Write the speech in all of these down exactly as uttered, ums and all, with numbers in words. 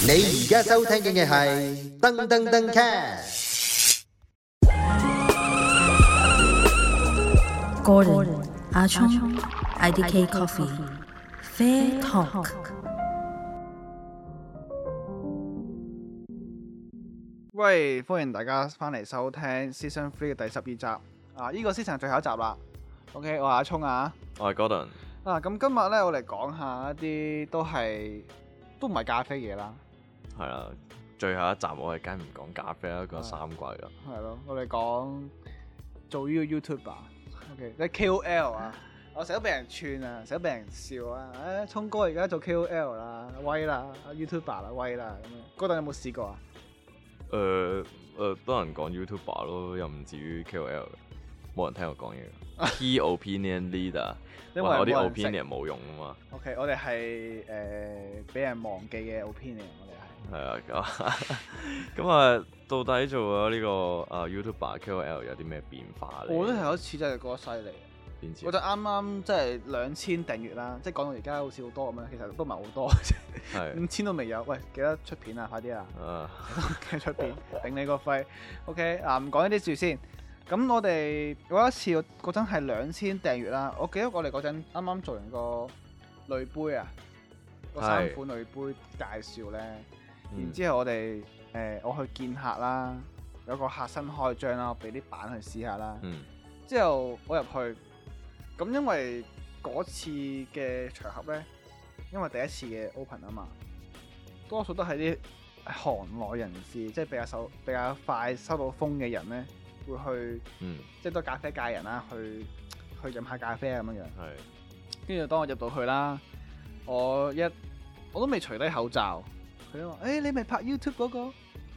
你而家收聽嘅係噔噔噔 cast。 Gordon 阿聰 I D K Coffee Fair Talk。 喂，歡迎大家翻嚟收聽 Season Three 嘅第十二集。啊，呢、這個 season 最後一集啦。OK，我係阿聰啊。 我係 Gordon。 啊，咁今日咧，我嚟講下一啲都係都唔係咖啡嘢啦。 係啦，最後一集我係梗唔講咖啡啦，講三季啦。 係咯，我哋講做呢個 YouTuber，OK，即係 K O L 啊。我成日都俾人串啊，成日都俾人笑啊。誒、哎，聰哥而家做 K O L 啦，威啦 ，YouTuber 啦，威啦咁樣。Gordon有冇試過啊？ 誒誒、呃呃，多人講 YouTuber 咯，又唔至於 K O L 嘅，冇人聽我講嘢。Key opinion leader，因為我啲 opinion 冇用啊嘛。 OK， 我哋係誒俾人忘記嘅 opinion，我哋係。 係啊，咁咁啊，到底做咗呢個啊 YouTuber K O L 有啲咩變化咧？ 我覺得係有一次真係覺得犀利。 邊次？ 我就啱啱即係兩千訂閱啦，即係講到而家好似好多咁樣，其實都唔係好多嘅啫。 係五千都未有，喂，記得出片啊，快啲啊！ 啊， 記得出片，頂你個肺。OK，啊唔講呢啲住先。咁我哋嗰一次嗰陣係兩千訂閱啦。我記得我哋嗰陣啱啱做完個濾杯啊，個三款濾杯介紹咧。 嗯、 然之後我哋誒、呃、我去見客啦，有個客新開張啦，我俾啲板去試下啦。 嗯、 之後我入去，咁因為嗰次嘅場合咧，因為第一次嘅 open 啊嘛，多數都係啲行內人士，即係比較收比較快收到風嘅人咧，會去， 嗯、 即係都係咖啡界人啦，去去飲下咖啡啊咁樣樣。 係。 跟住當我入到去啦，我一我都未除低口罩。佢都話：誒、欸，你咪拍 YouTube 嗰、那個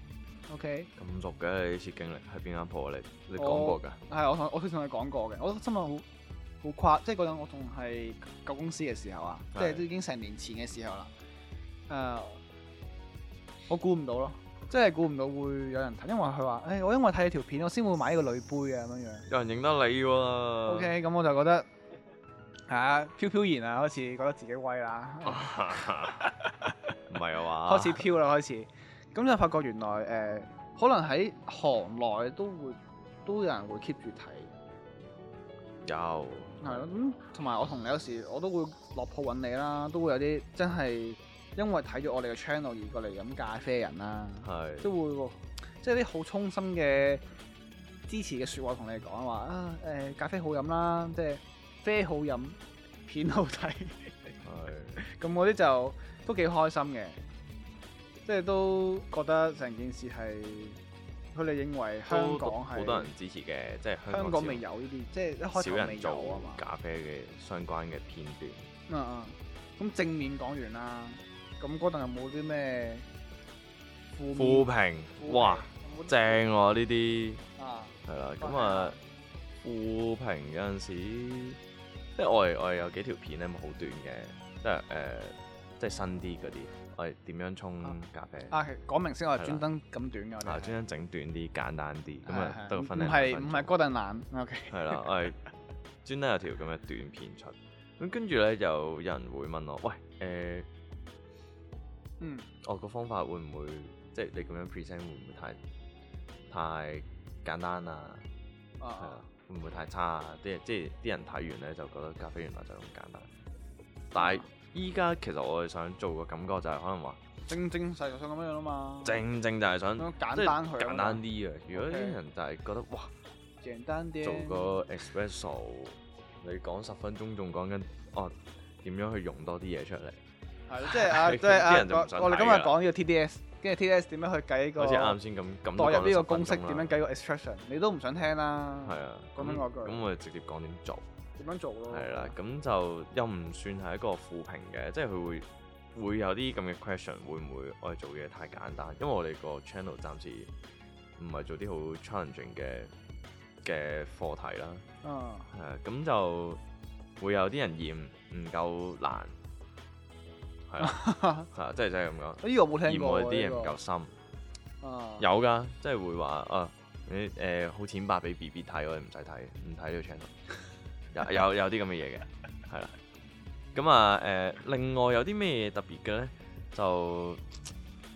？OK。 咁熟嘅你呢次經歷喺邊間鋪啊？你你講過㗎？ 係我同我同佢講過嘅。我心諗好好誇，即係嗰陣我仲係舊公司嘅時候啊，是即係都已經成年前嘅時候啦。誒、uh，我估唔到咯，即係估唔到會有人睇，因為佢話：誒、欸，我因為睇你條片，我先會買呢個濾杯啊咁樣樣。 有人認得你喎。 OK，咁我就覺得係啊，飄飄然啊，開始覺得自己威啦。 唔係啊嘛， 開始飄啦，開始咁就發覺原來誒、呃，可能喺行內都會都有人會 keep 住睇， 有係咯。咁同埋我同你有時我都會落鋪揾你啦，都會有啲真係因為睇咗我哋嘅 channel 而過嚟飲咖啡人啦，係是都會喎，即係啲好衷心嘅支持嘅説話同你講話啊誒、呃，咖啡好飲啦，即係啡好飲，片好睇，係咁嗰啲就。都幾開心嘅，即係都覺得成件事係佢哋認為香港係好多人支持嘅，即係香港， 香港未有呢啲，即係一開頭未有啊嘛。 咖啡嘅相關嘅片段。 嗯嗯，咁正面講完啦，咁嗰陣有冇啲咩負負評？哇，正喎呢啲。 啊， 係啦，咁啊負評有陣時，即係我係我係有幾條片咧，好短嘅，即係誒。即係新啲嗰啲，我係點樣沖咖啡？ 啊，講明先，我係專登咁短嘅。 係專登整短啲、簡單啲，咁啊得個分零唔分。 係唔係Gordon懶 ，OK。 係啦，我係專登有條咁嘅短片出。咁跟住咧，就有人會問我：喂，誒、呃， 嗯， 我個方法會唔會即係你咁樣 present 會唔會太太簡單啊？係啊，啊會唔會太差啊？啲即係啲人睇完咧就覺得咖啡原來就咁簡單，但係。依家其實我係想做個感覺就係可能話正正實實想咁樣樣啊嘛， 正正就係想簡單去簡單啲啊！如果啲人就係覺得哇， 簡單啲做個 espresso， 你講十分鐘仲講緊哦點樣去溶多啲嘢出嚟， 係即係啊即係啊我哋今日講呢個 T D S， 跟住 T D S 點樣去計個， 好似啱先咁咁代入呢個公式點樣計個 extraction， 你都唔想聽啦。係啊，講緊嗰句。 咁我哋直接講點做。 點樣做咯？係啦，咁就又唔算係一個負評嘅，即係佢會會有啲咁嘅 question，會唔會我哋做嘢太簡單？因為我哋個 channel 暫時唔係做啲好 challenging 嘅嘅課題啦。啊，係啊，咁就會有啲人嫌唔夠難，係啦，係啊，即係真係咁講。 呢個冇聽過。嫌我哋啲嘢唔夠深。啊，有㗎，即係會話啊，你誒好淺白俾 B B 睇，我哋唔使睇，唔睇呢個 channel。有有有啲咁嘅嘢嘅，係啦。咁啊誒，另外有啲咩特別嘅咧？就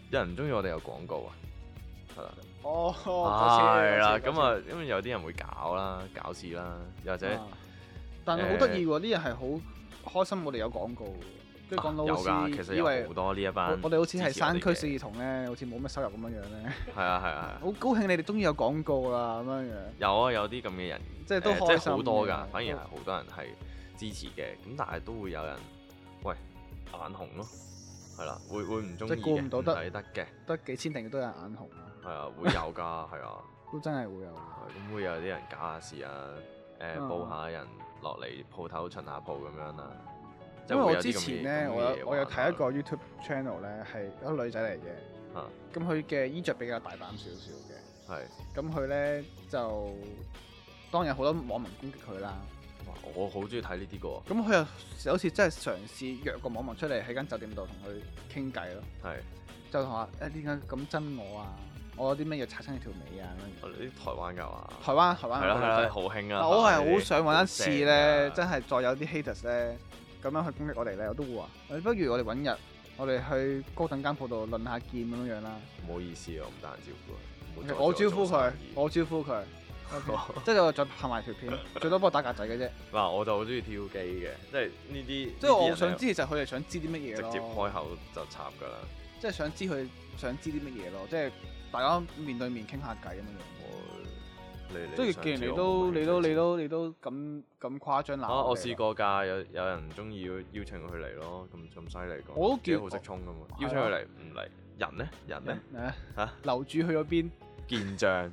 有人唔中意我哋有廣告啊，係啦。 哦， 係啦，咁啊，因為有啲人會搞啦，搞事啦，又或者， 啊、但係好得意喎，啲人係好開心，我哋有廣告，跟住講到好似以為好多呢一班， 我哋好似係山區四兒童咧，好似冇乜收入咁樣樣咧。 係啊係啊係。 好高興你哋終於有廣告啦咁樣樣。 有啊，有啲咁嘅人， 即係都開心， 好多㗎，反而係好多人係支持嘅，咁但係都會有人，喂眼紅咯，係啦，會會唔中意嘅，唔抵得嘅， 得幾千訂閱都有人眼紅啊。 係啊，會有㗎，係啊， 都真係會有。 咁會有啲人搞下事啊，誒報下人落嚟鋪頭巡下鋪咁樣啦。 因為我之前咧，我有我有睇一個 YouTube channel 咧，係一個女仔嚟嘅。啊。咁佢嘅衣着比較大膽少少嘅。係。咁佢咧就當然好多網民攻擊佢啦。 哇！我好中意睇呢啲個。 咁佢又好似真係嘗試約個網民出嚟喺間酒店度同佢傾偈咯。係。就同話誒點解咁憎我啊？我有啲咩要擦親你條尾啊？ 我哋啲台灣㗎嘛？ 台灣台灣。係啦係啦， 好興啊！ 我係好想揾一次咧，真係再有啲 haters 咧。咁樣去攻擊我哋咧，我都會話，不如我哋揾日，我哋去高等間鋪度論下劍咁樣樣啦。 唔好意思啊，我唔得閒招呼佢。我招呼佢，我招呼佢。即係我再拍埋條片，最多幫我打格仔嘅啫。 嗱，我就好中意挑機嘅，即係呢啲。 即係我想知，就係佢哋想知啲乜嘢咯。 直接開口就插㗎啦。 即係想知佢想知啲乜嘢咯，即係大家面對面傾下偈咁樣樣。即係既然你都你都你都你都咁咁誇張鬧， 我試過㗎，有有人中意邀請佢嚟咯，咁咁犀利講， 我都幾好識衝㗎嘛，邀請佢嚟唔嚟，人咧人咧嚇樓主去咗邊？ 健將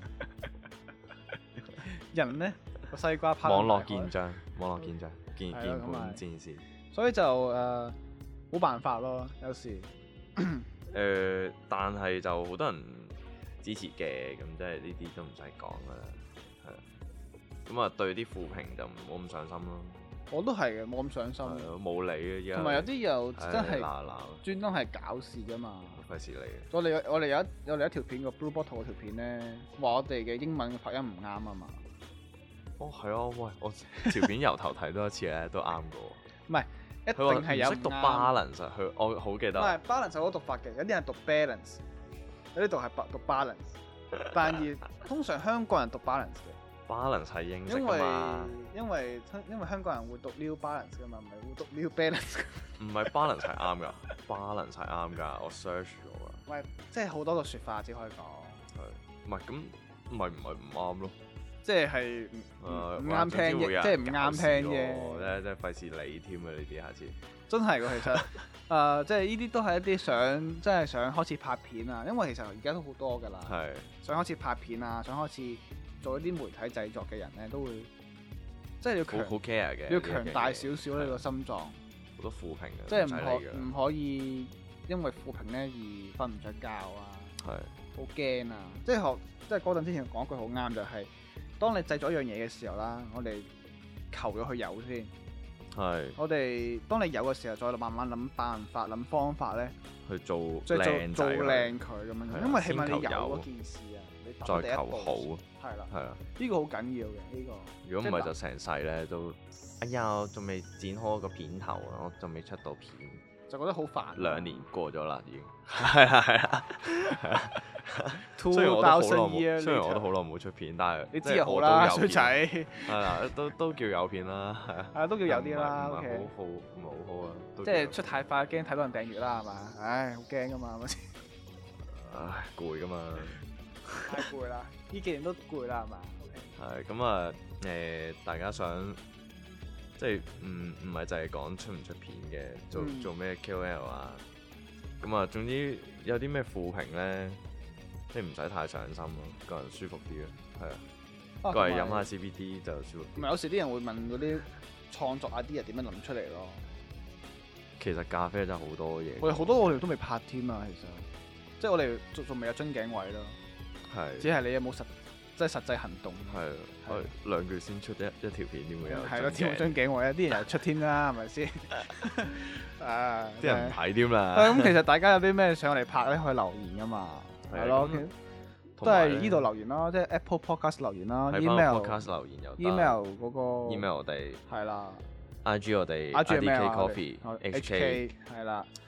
人咧個西瓜拋網絡健將，網絡健將鍵鍵盤戰士， 所以就誒冇辦法咯，有時誒，但係就好多人支持嘅，咁即係呢啲都唔使講㗎啦。咁啊，對啲負評就唔好咁上心咯。我都係嘅，冇咁上心。冇理嘅而家。同埋有啲又真係專登係搞事㗎嘛。費事理嘅。我哋我哋有一有另一條片個 Blue Bottle 嗰條片咧，話我哋嘅英文發音唔啱啊嘛。哦，係啊，喂，我條片由頭睇多一次咧，都啱嘅。唔係，一定係有唔識讀 balance，佢我好記得。唔係 balance 有好多讀法嘅，有啲人讀 balance， 有啲讀係讀 balance， 但係通常香港人讀 balance 嘅。balance 係英式㗎嘛？因為因為香港人會讀 new balance 㗎嘛，唔係會讀 new balance。唔係 balance 係啱㗎，balance 係啱㗎，我 search 咗㗎。喂，即係好多個説法只可以講。係，唔係咁，唔係唔係唔啱咯？即係係唔啱聽嘅，即係唔啱聽嘅。咧即係費事理添啊！呢啲下次真係㗎，其實誒，即係呢啲都係一啲想，即係想開始拍片啊。因為其實而家都好多㗎啦，係想開始拍片啊，想開始做一啲媒體製作嘅人咧，都會即係要強好 care 嘅，要強大少少呢個心臟。好多負評嘅，即係唔可唔可以因為負評咧而瞓唔着覺啊，係好驚啊！即係學即係嗰陣之前講句好啱，就係當你製咗一樣嘢嘅時候啦，我哋求咗佢有先。係我哋當你有嘅時候，再慢慢諗辦法、諗方法咧去做靚做靚佢咁樣，因為起碼你有嗰件事啊。再求好，係啦，係啊，呢個好緊要嘅呢個。如果唔係就成世咧都，哎呀，仲未剪開個片頭啊，我仲未出到片，就覺得好煩。兩年過咗啦，已經係啊係啊係啊。雖然我都好耐冇，雖然我都好耐冇出片，但係你知又好啦，衰仔係啦，都都叫有片啦，係啊，係都叫有啲啦。唔係好好，唔係好好啊。即係出太快，驚睇到人訂閱啦，係嘛？唉，好驚噶嘛，嗰時。唉，攰噶嘛。太攰啦！呢幾年都攰啦，係嘛？係咁啊，誒、呃，大家想即係唔唔係就係講出唔出片嘅，做、嗯、做咩 K O L 啊？咁啊，總之有啲咩負評咧，即係唔使太上心咯，個人舒服啲咯，係啊，過嚟飲下 C B D 就舒服。唔係有時啲人會問嗰啲創作 idea 點樣諗出嚟咯？其實咖啡真係好多嘢，我哋好多我哋都未拍添啊，其實即係我哋仲仲未有樽頸位咯。係，只係你有冇實即係實際行動？係，我兩句先出一一條片點會有？係咯，添冇樽頸位啊！啲人又出添啦，係咪先？啊！啲人唔睇添啦。咁其實大家有啲咩上嚟拍咧，可以留言噶嘛？係咯，都係呢度留言啦，即係 Apple Podcast 留言啦 ，email Podcast 留言有 email 嗰個 email 我哋係啦 ，I G 我哋 I G K Coffee H K 係啦。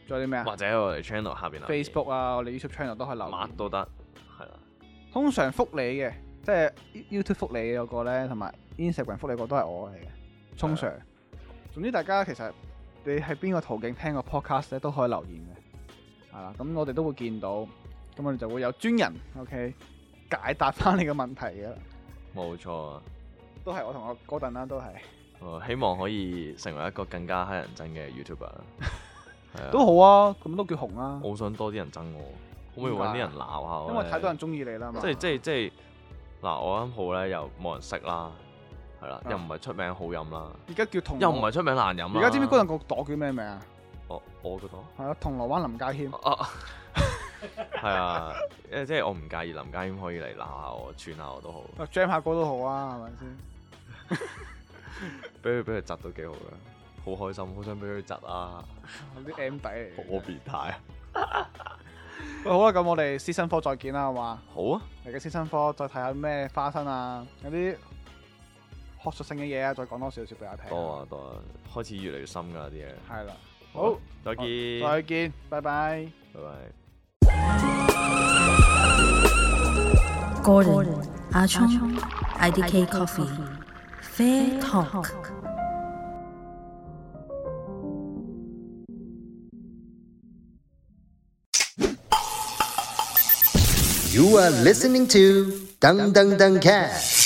仲有啲咩啊？ 或者我哋 channel 下邊留言 Facebook 啊，我哋 YouTube channel 都可以留言。 乜都得，係啦。 通常覆你嘅，即係 YouTube 覆你嗰個咧，同埋 Instagram 覆你嗰個都係我嚟嘅。通常，總之大家其實你喺邊個途徑聽個 podcast 咧都可以留言嘅，係啦。咁我哋都會見到，咁我哋就會有專人 OK 解答翻你嘅問題嘅。 冇錯啊， 都係我同我哥頓啦，都係。 哦，希望可以成為一個更加乞人憎嘅 YouTuber。係啊， 都好啊，咁都叫紅啊。 我好想多啲人憎我，可唔可以揾啲人鬧下我？ 因為太多人中意你啦嘛。 即係即係即係嗱，我間鋪咧又冇人識啦，係啦，又唔係出名好飲啦。 而家叫銅鑼， 又唔係出名難飲啦。 而家知唔知嗰陣個朵叫咩名啊？ 我我個朵係啊，銅鑼灣林家謙。 啊，係啊，誒即係我唔介意林家謙可以嚟鬧下我、串下我都好。 啊 jam 下歌都好啊，係咪先？ 俾佢俾佢窒都幾好嘅，好開心，好想俾佢窒啊！ 啲 M 底嚟， 好變態啊！ 喂，好啦，咁我哋師生科再見啦，好嘛？ 好啊， 嚟嘅師生科再睇下咩花生啊，有啲學術性嘅嘢啊，再講多少少俾我聽。 多啊多啊，開始越嚟越深㗎啲嘢。 係啦，好， 再見， 再見，拜拜， 拜拜。 Gordon 阿聰 I D K Coffee。Fair Talk。 You are listening to Dang Dang Dang Cat。